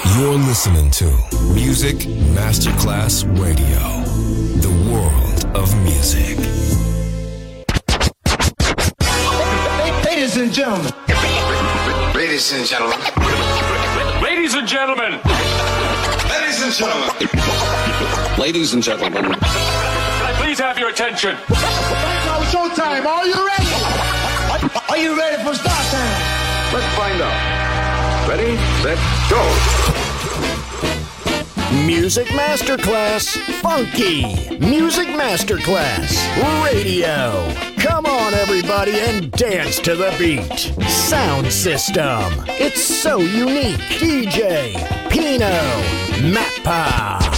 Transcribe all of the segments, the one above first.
You're listening to Music Masterclass Radio, the world of music. Ladies and gentlemen. Ladies and gentlemen. Ladies and gentlemen. Ladies and gentlemen. Ladies and gentlemen. Can I please have your attention? Now showtime. Are you ready? Are you ready for start time? Let's find out. Ready, set, go. Music Masterclass Funky. Music Masterclass Radio. Come on, everybody, and dance to the beat. Sound system. It's so unique. DJ Pino Mappa.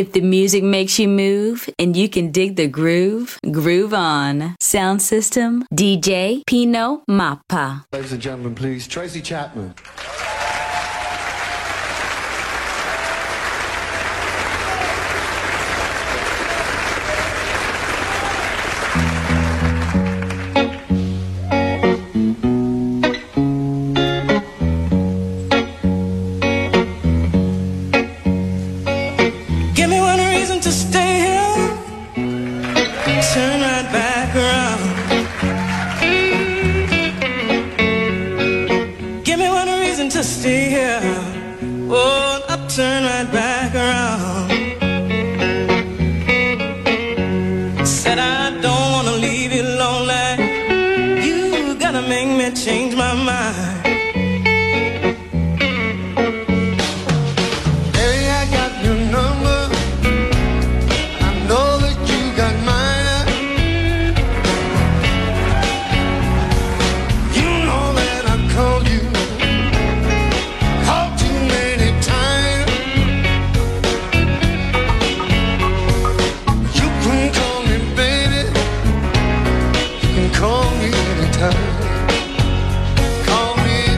If the music makes you move and you can dig the groove, groove on. Sound system, DJ Pino Mappa. Ladies and gentlemen, please, Tracy Chapman. Give me one reason to stay here. Turn right back around. Give me one reason to stay here. Oh, I'll turn right back around. Said I don't wanna leave you lonely. You gotta make me change my mind. Call me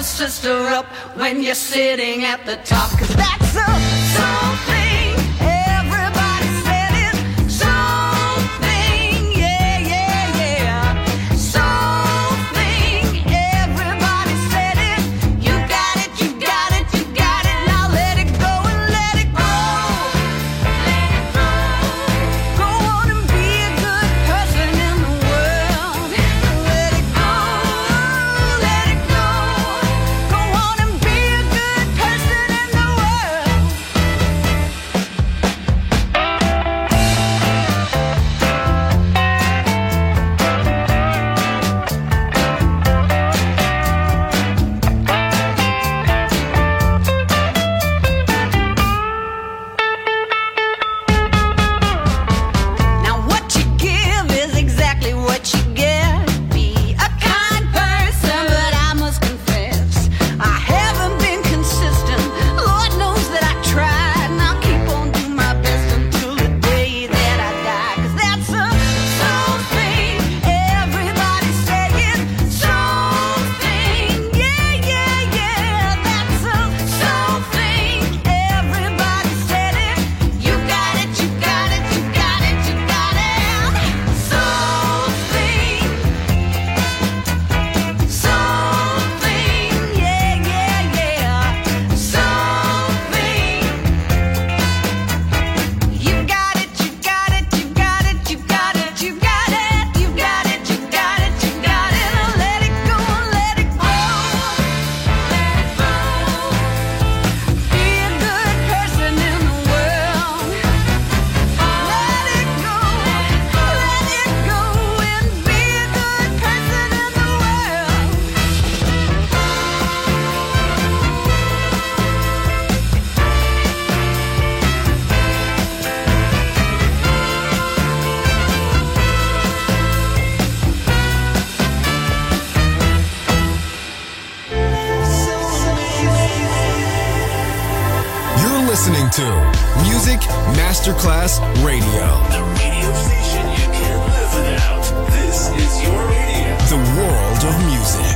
a sister up when you're sitting at the top. 'Cause that's a something. Everybody said it. Something. Yeah, yeah, yeah. Something. Everybody said it. You got it, you got it, you got it. Now let it go and let it go. Let it go. Go on and be a good person in the world. Let it go. Let it go. Go on and be a good person in the world. Now what you give is exactly what you get. Be a kind person, but I must confess I haven't been consistent. Lord knows that I tried, and I'll keep on doing my best until the day that I die. 'Cause that's a something. Everybody say it. Something. Yeah, yeah, yeah. That's a something. Everybody said it. You got it, you got it, you got it, you got it. Something. Something. Yeah, yeah, yeah. Something. You got it, you got it, you got it, you got it, you got it, you got it, you got it, you got it. Now let it go, let it go. Let it go. Be a good person in the world. Let it go, let it go, and be a good person in the world. You're listening to Music Masterclass Radio. The radio station you can't live without. This is your radio. The world of music.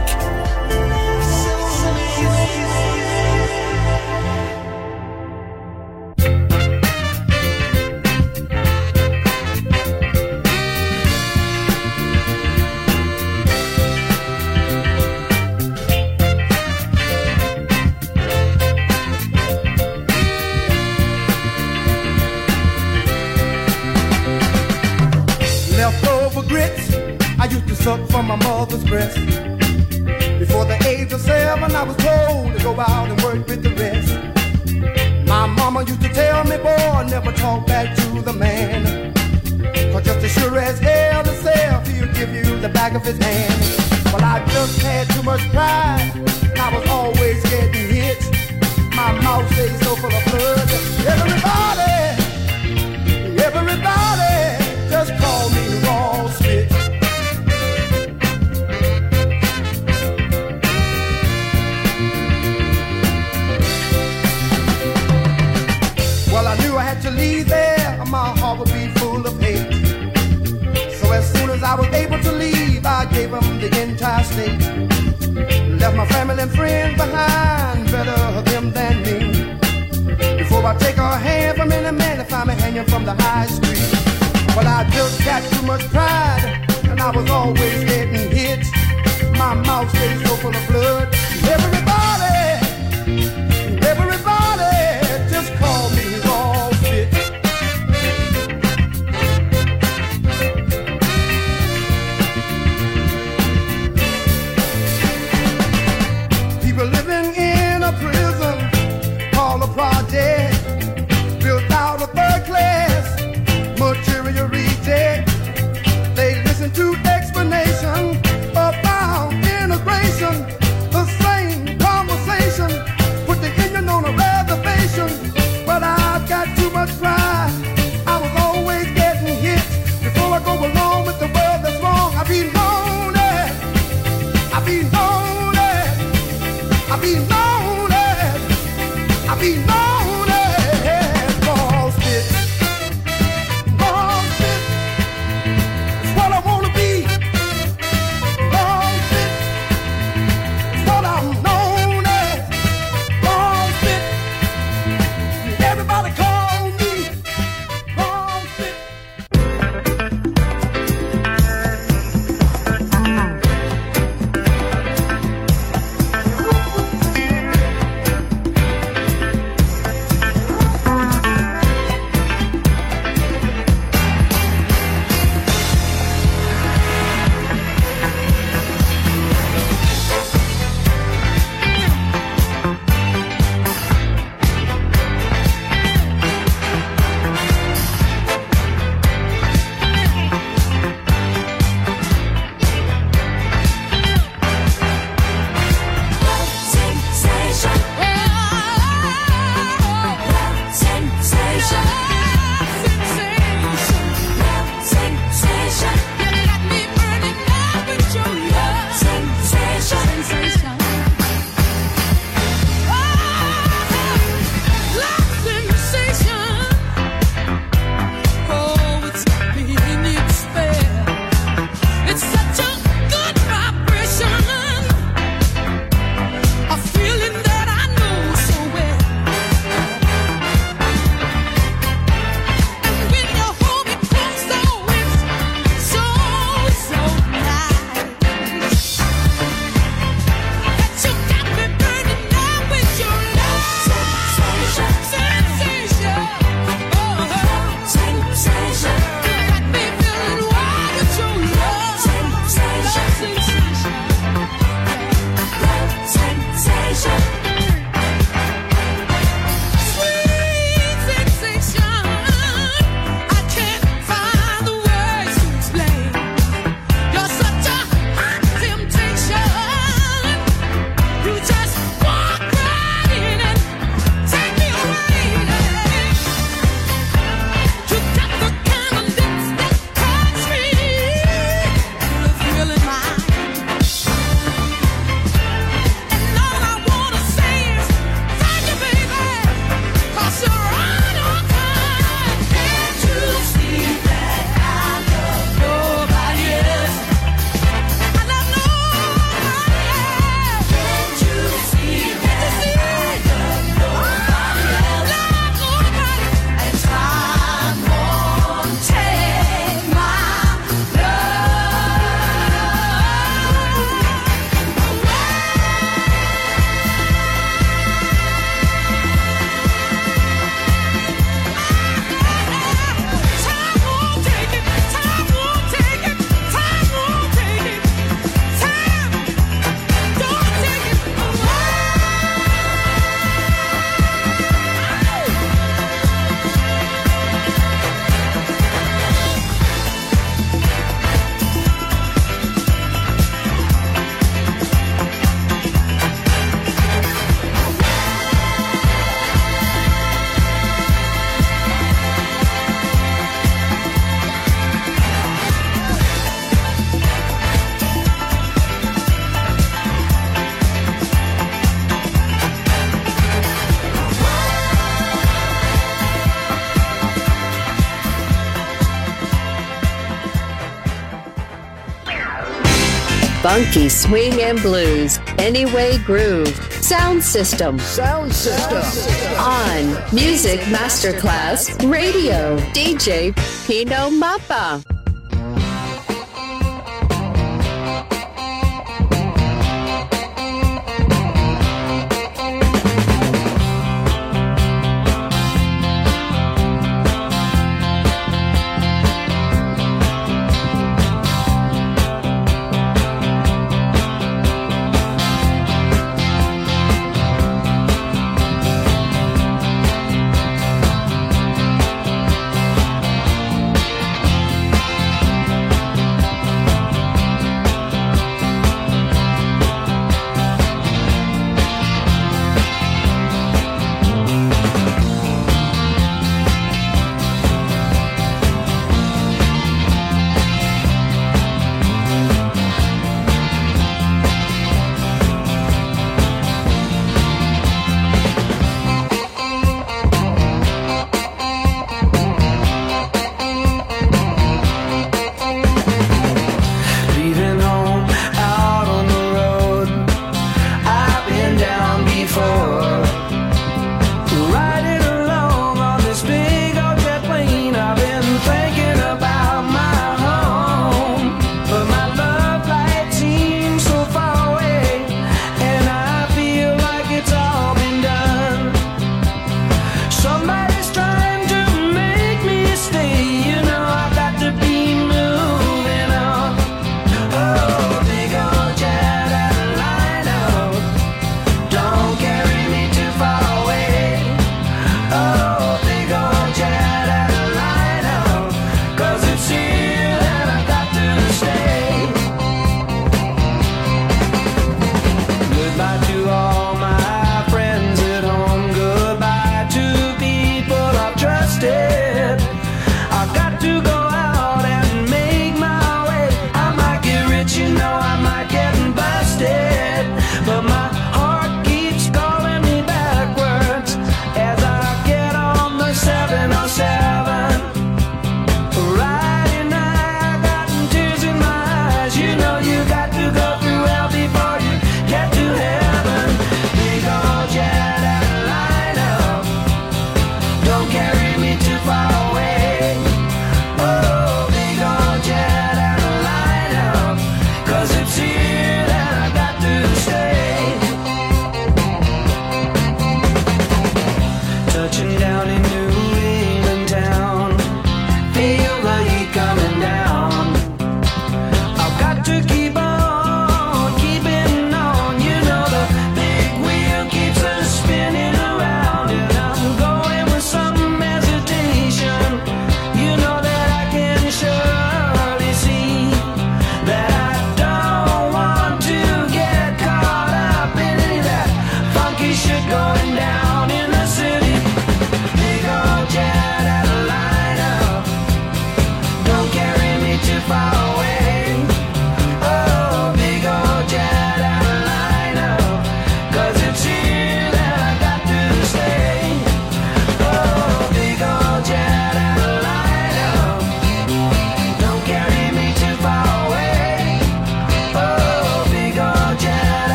Leftover grits I used to suck from my mother's breast. Before the age of 7 I was told to go out and work with the rest. My mama used to tell me, boy, never talk back to the man, 'cause just as sure as hell himself he'll give you the back of his hand. Well, I just had too much pride and I was always getting hit. My mouth stays so full of blood. Everybody just call me raw spit. Well, I knew I had to leave there, or my heart would be full of hate. So as soon as I was able to leave, I gave them the entire state. Left my family and friends behind, better them than me. Before I take a hand from any man, if I'm hanging from the high street. Well, I just got too much pride, and I was always getting hit. My mouth stays so full of blood. Everybody, just call me raw spit. People living in a prison called a project, built out of third class material reject. They listen to explanation about integration. The same conversation, put the Indian on a reservation. But I've got too much pride, I was always getting hit. Before I go along with the world that's wrong, I be lonely, I be lonely, I be Funky swing and blues, Anyway Groove, Sound System. Sound System. On Music Masterclass Radio, DJ Pino Mappa.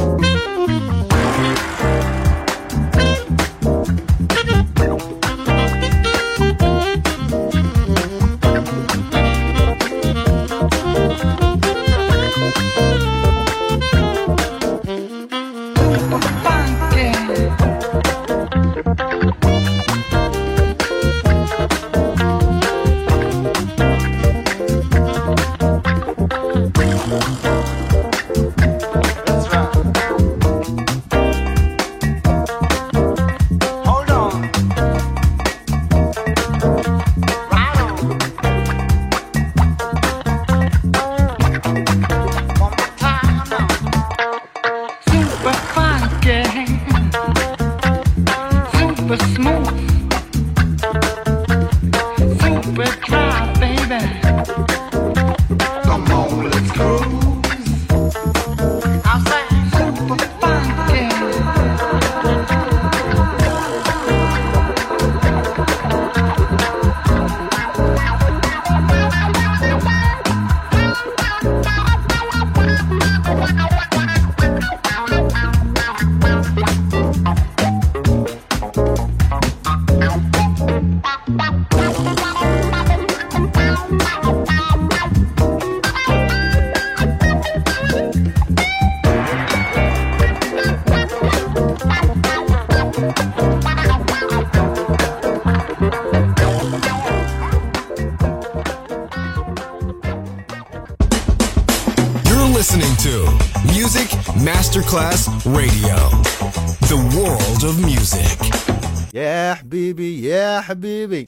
listening to Music Masterclass Radio, the world of music. Yeah, حبيبي يا حبيبي.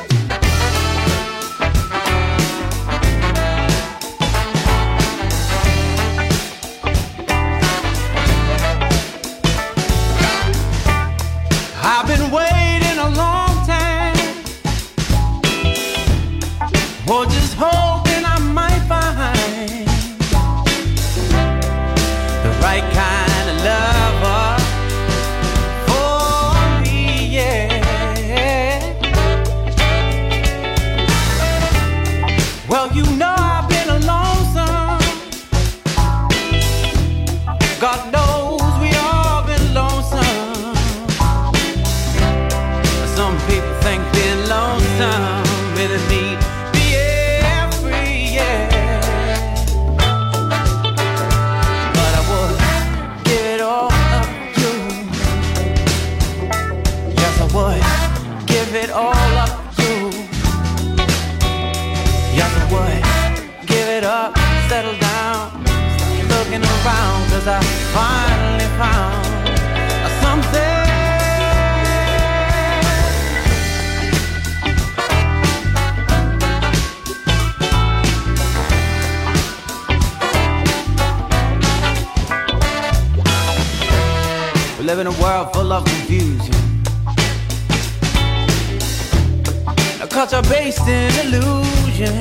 I've been waiting a long time, or just hoping I might find the right kind of lover for me, yeah. Well, you know I've been alone some. God knows we all been lonesome. Some people think being lonesome really mean being free, yeah. But I would give it all up to you. Yes, I would give it all up to you. Yes, I would give it up, settle down, looking around, 'cause I finally found something. We live in a world full of confusion, a culture based in illusion.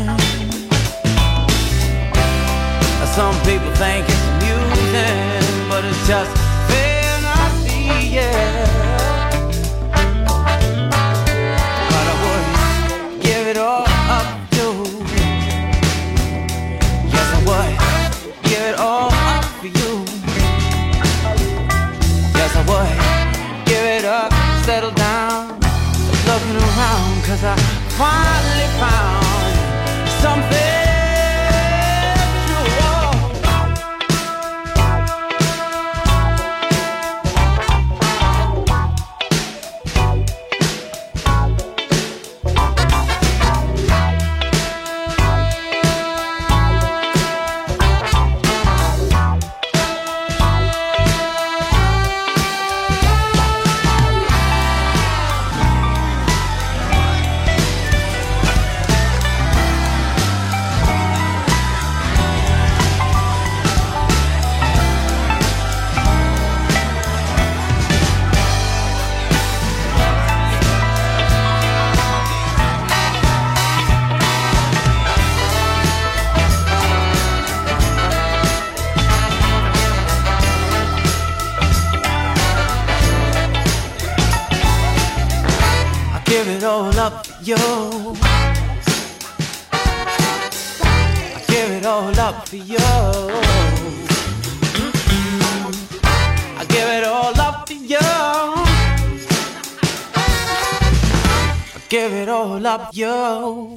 Some people think it's amusing, but it's just fantasy, yeah. But I would give it all up to. Yes, I would give it all up for you. Yes, I would give it up, settle down, looking around, 'cause I finally found something. Give it all up for you. I give it all up for you. all up you.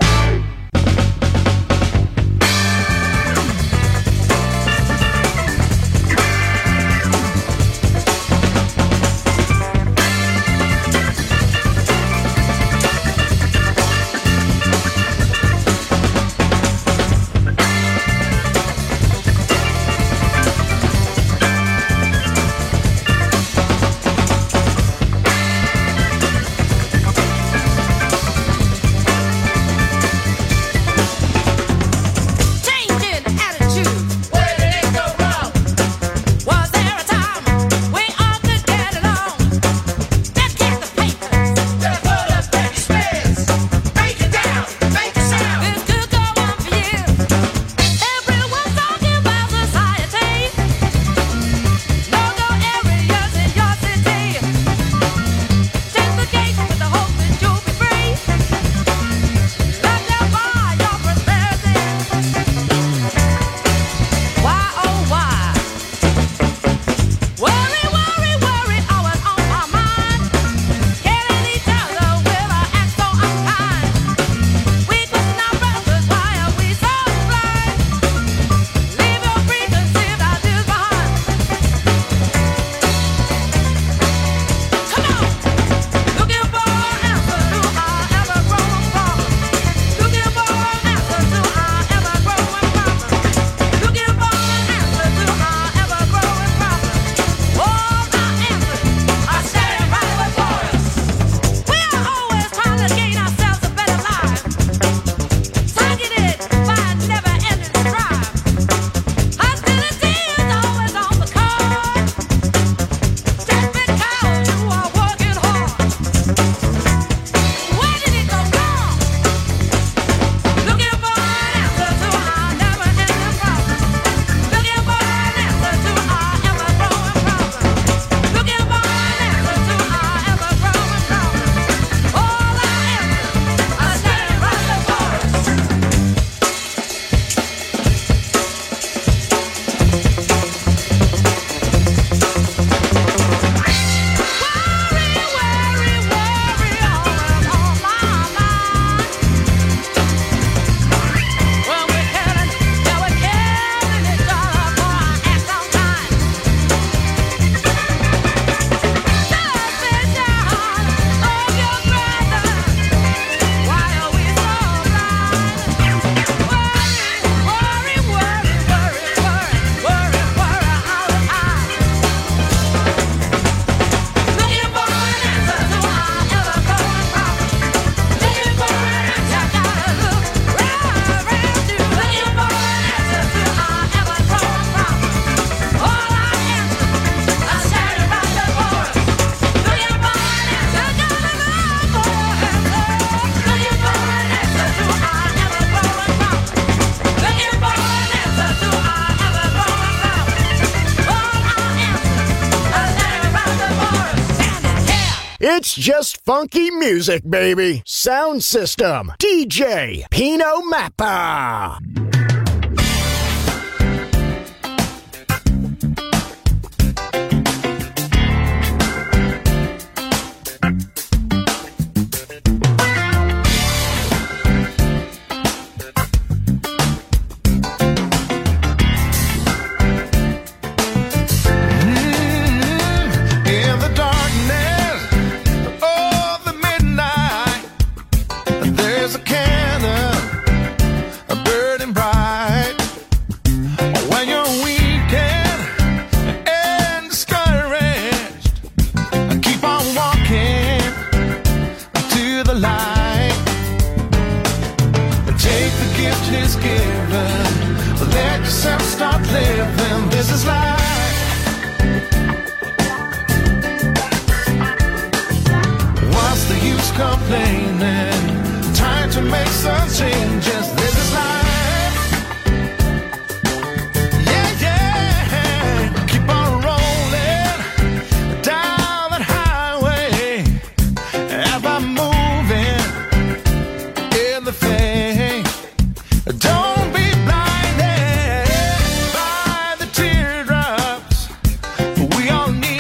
It's just funky music, baby. Sound System, DJ Pino Mappa.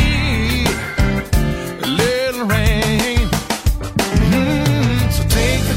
Take the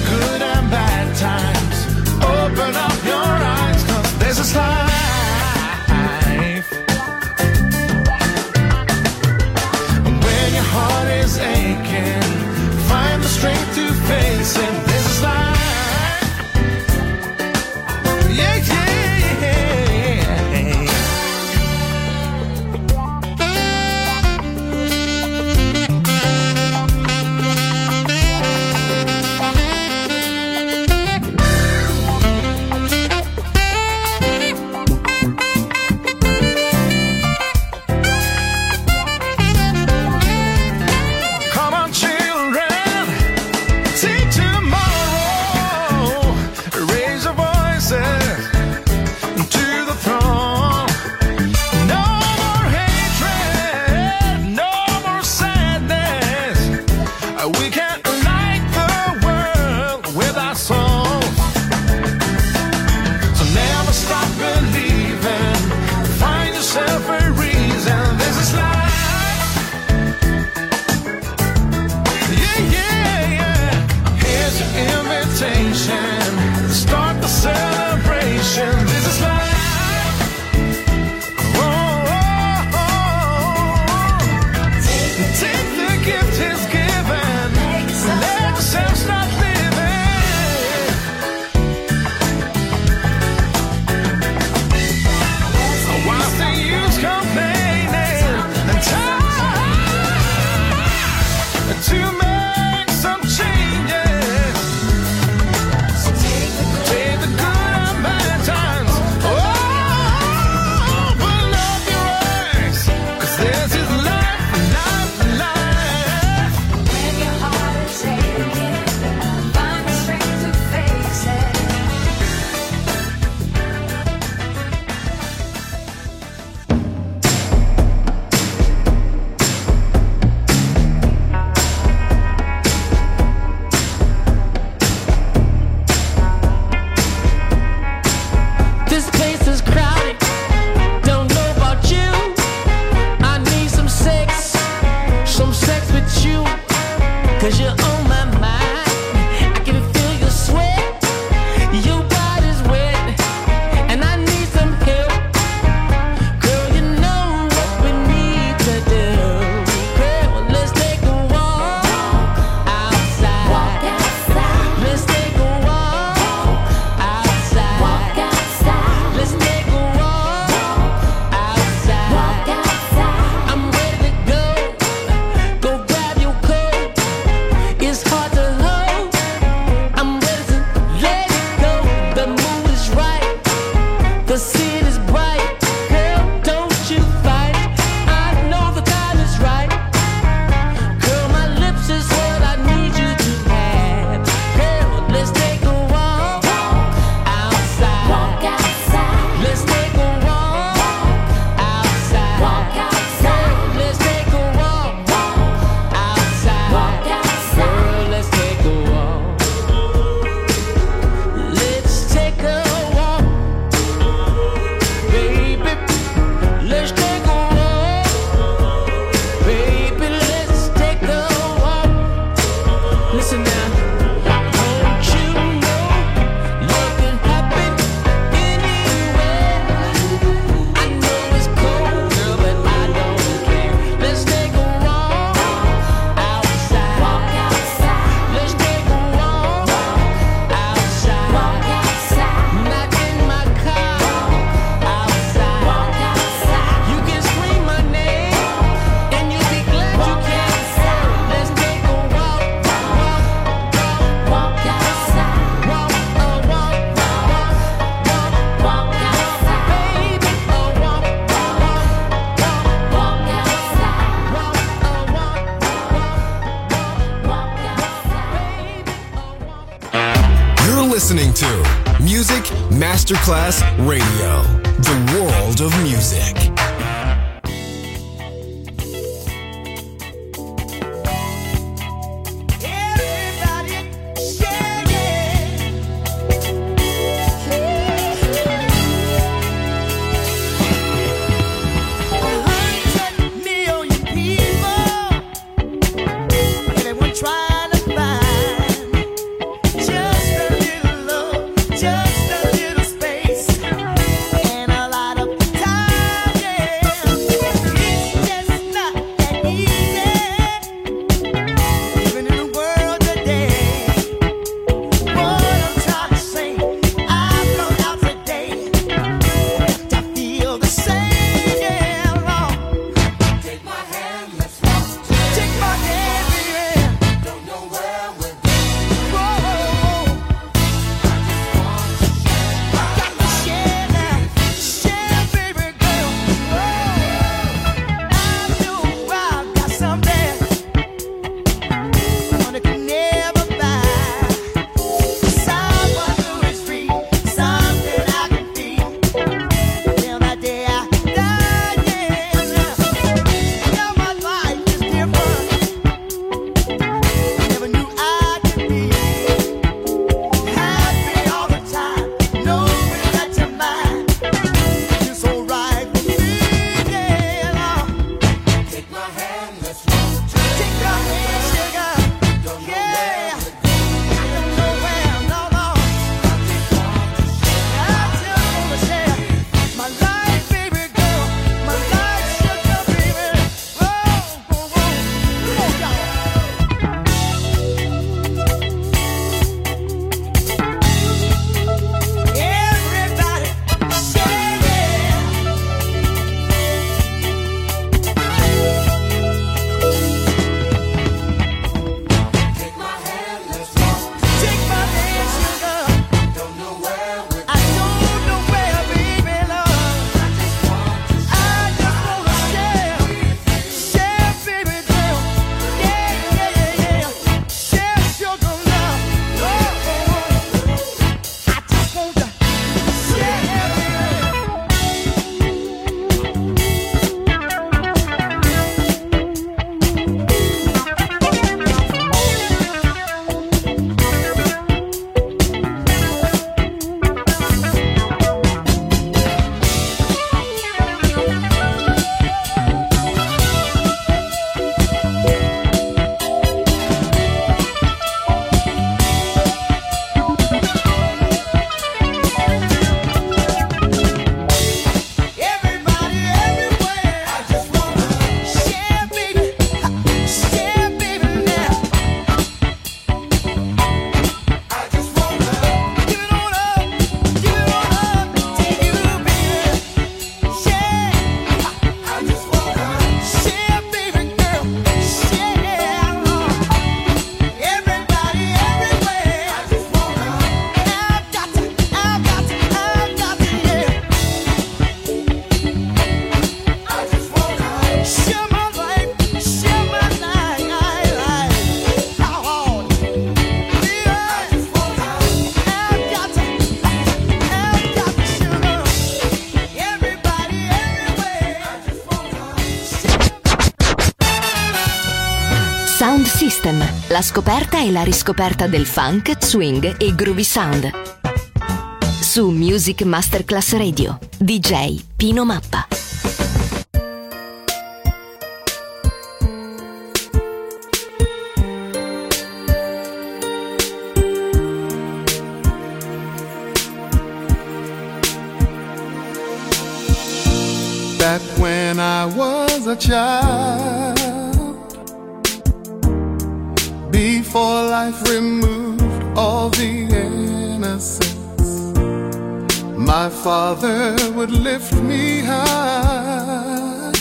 listening to Music Masterclass Radio, the world of music. Just a little space and a lot of time, yeah. Sound System, la scoperta e la riscoperta del funk, swing e groovy sound. Su Music Masterclass Radio, DJ Pino Mappa. Back when I was a child, before life removed all the innocence, my father would lift me high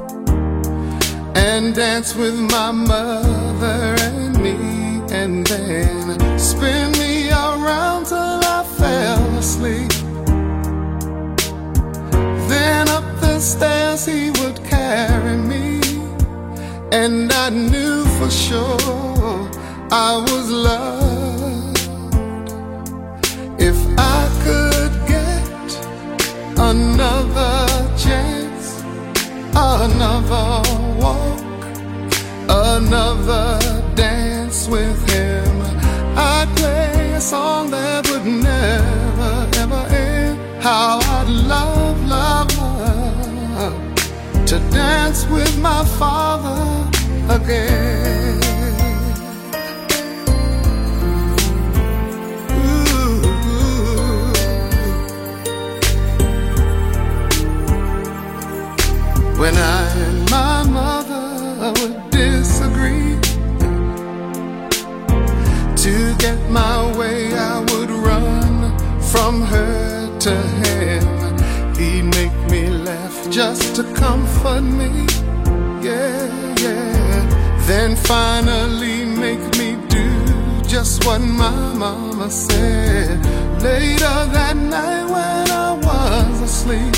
and dance with my mother and me, and then spin me around till I fell asleep. Then up the stairs he would carry me, and I knew for sure I was loved. If I could get another chance, another walk, another dance with him, I'd play a song that would never ever end. How I'd love, love, love to dance with my father again. Ooh. When I and my mother would disagree, to get my way I would run from her to him. He'd make me laugh just to comfort me, yeah, yeah. Then finally make me do just what my mama said. Later that night when I was asleep,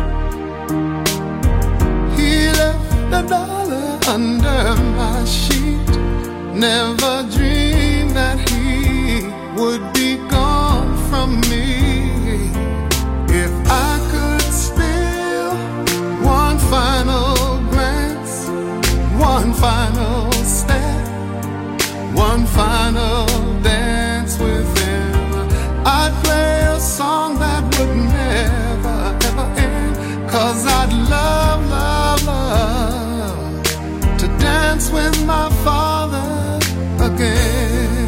he left $1 under my sheet. Never dreamed that he would be gone from me. If I could steal one final glance, one final step, one final dance with him, I'd play a song that would never ever end. 'Cause I'd love, love, love to dance with my father again.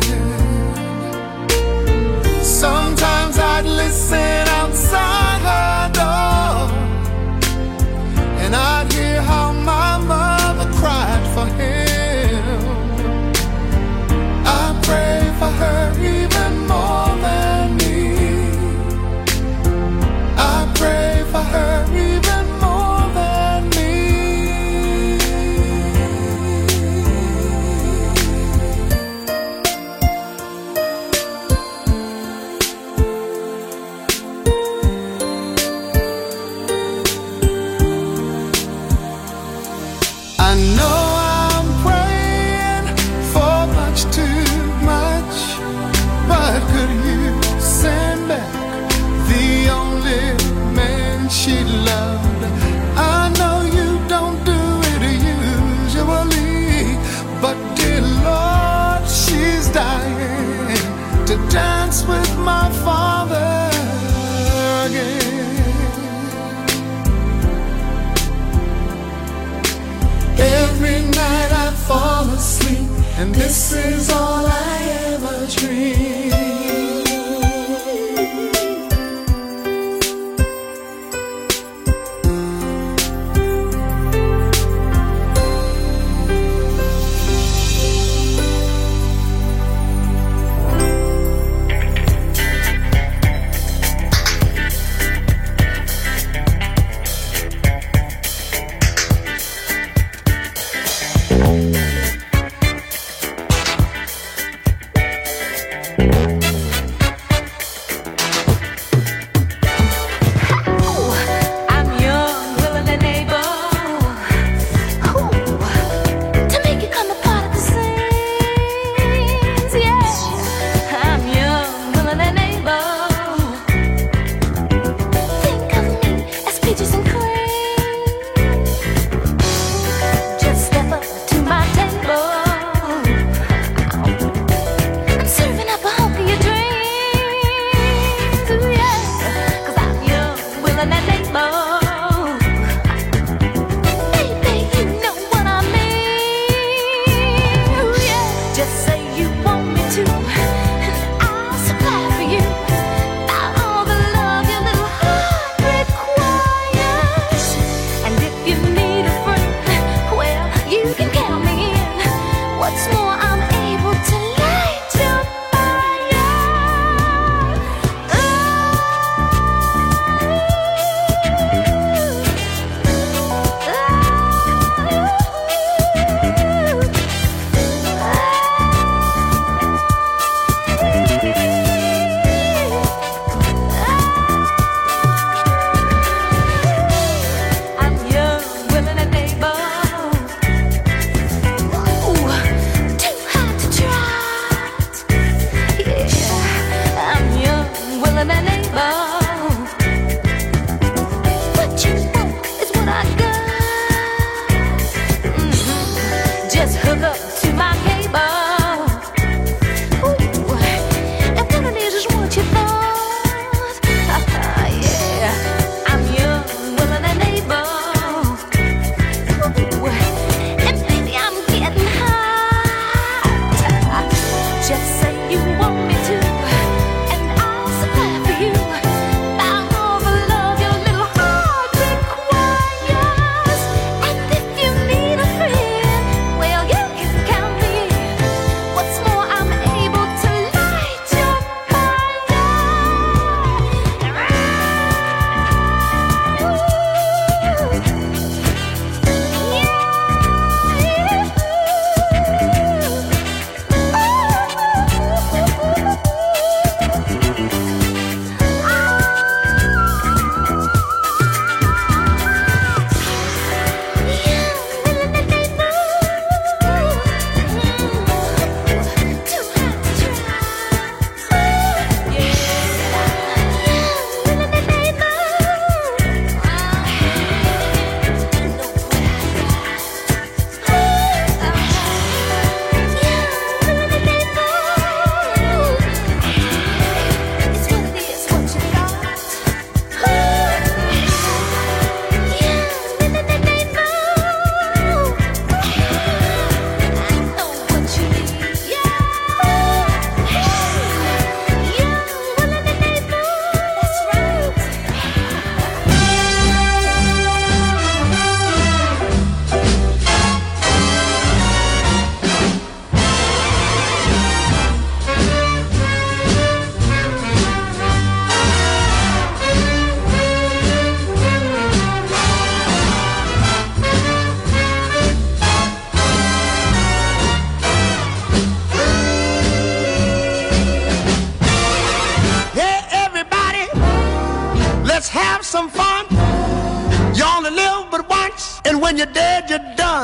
Sometimes I'd listen outside her door, and I'd hear how my mother cried for him. I pray for her even more than me. I pray for her even more than me. I know I'm praying for much too much, but could you send back the only man she loved? I know you don't do it usually, but dear Lord, she's dying to dance with my father again. Every night I fall asleep, and this is all I ever dream.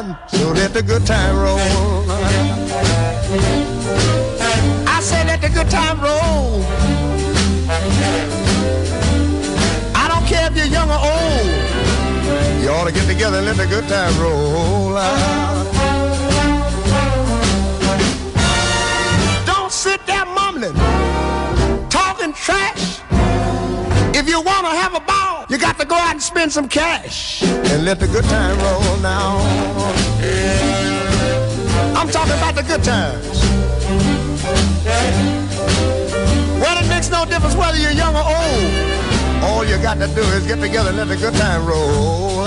fun, so let the good time roll. I say let the good time roll. I don't care if you're young or old. You ought to get together and let the good time roll. Don't sit there mumbling, talking trash. If you want to have a ball, you got to go out and spend some cash and let the good time roll now. I'm talking about the good times. Well, it makes no difference whether you're young or old. All you got to do is get together and let the good time roll.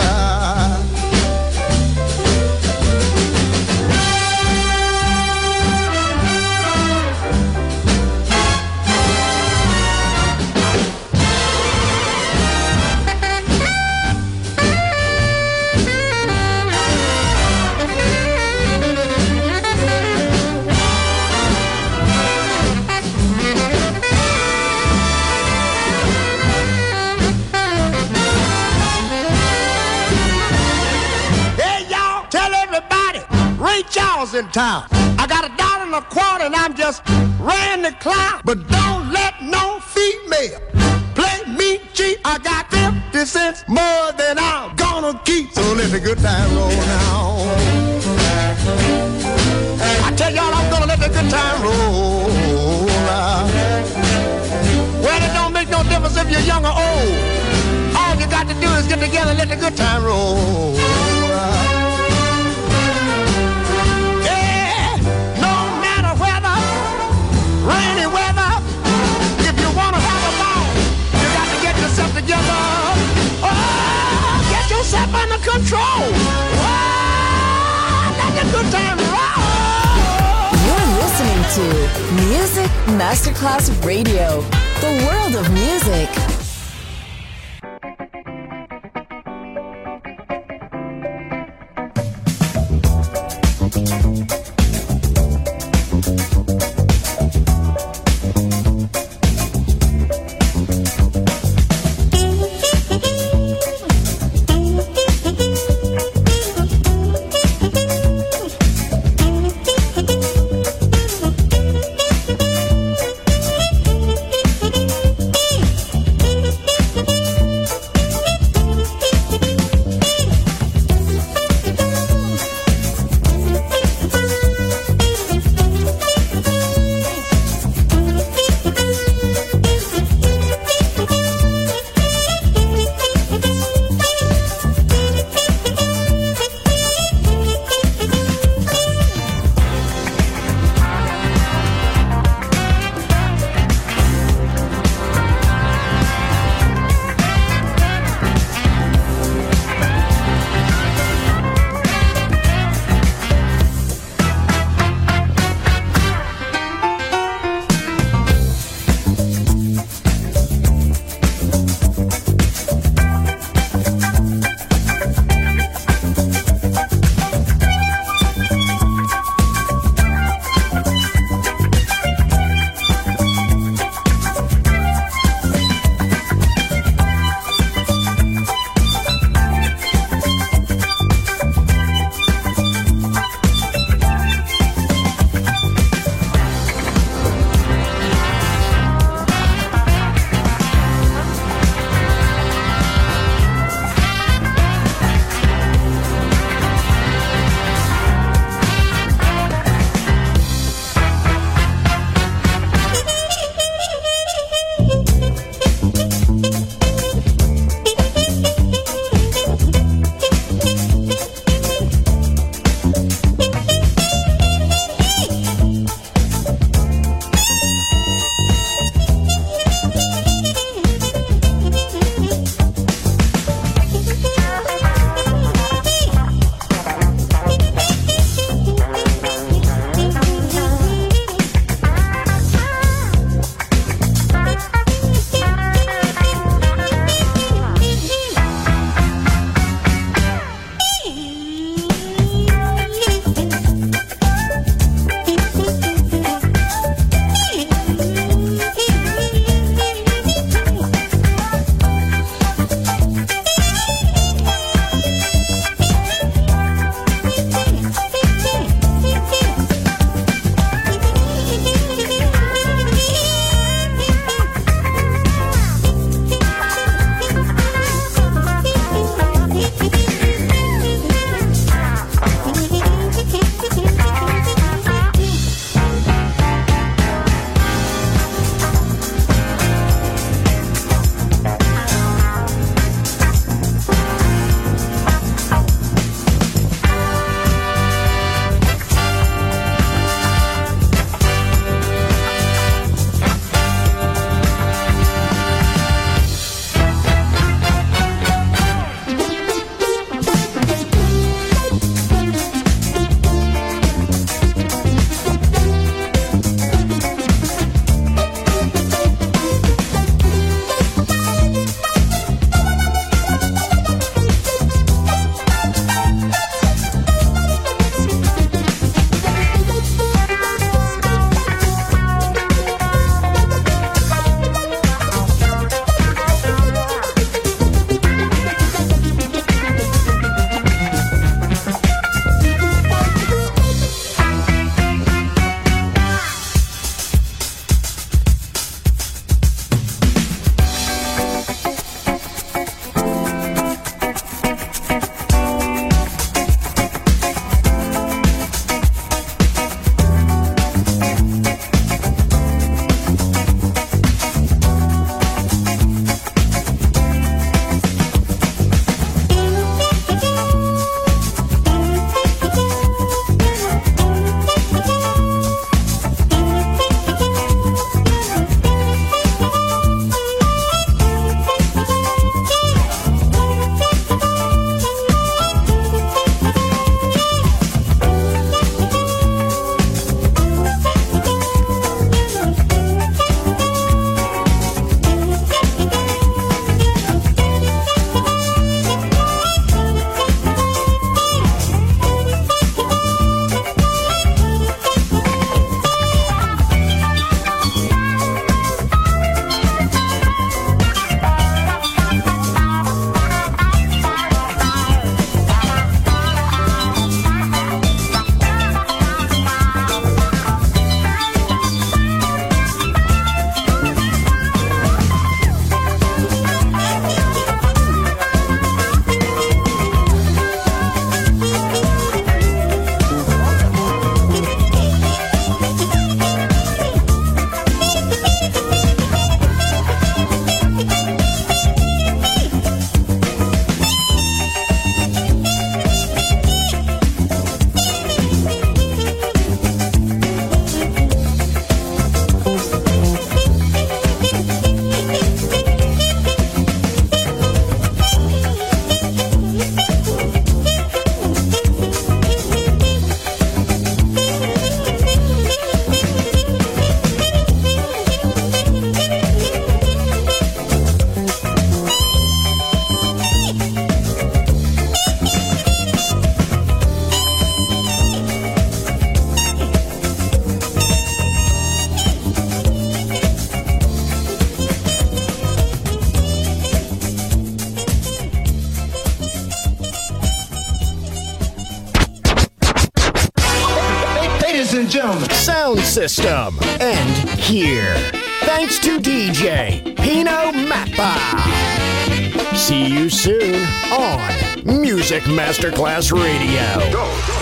Charles in town. I got $1.25 and I'm just ran the clown. But don't let no female play me cheap. I got 50 cents more than I'm gonna keep. So let the good time roll now. I tell y'all I'm gonna let the good time roll. Well, it don't make no difference if you're young or old. All you got to do is get together and let the good time roll. Rainy weather, if you want to have a ball, you got to get yourself together. Oh, get yourself under control. Oh, let the good time roll. You're listening to Music Masterclass Radio, the world of music. Sound System, and here. Thanks to DJ Pino Mappa. See you soon on Music Masterclass Radio. Go.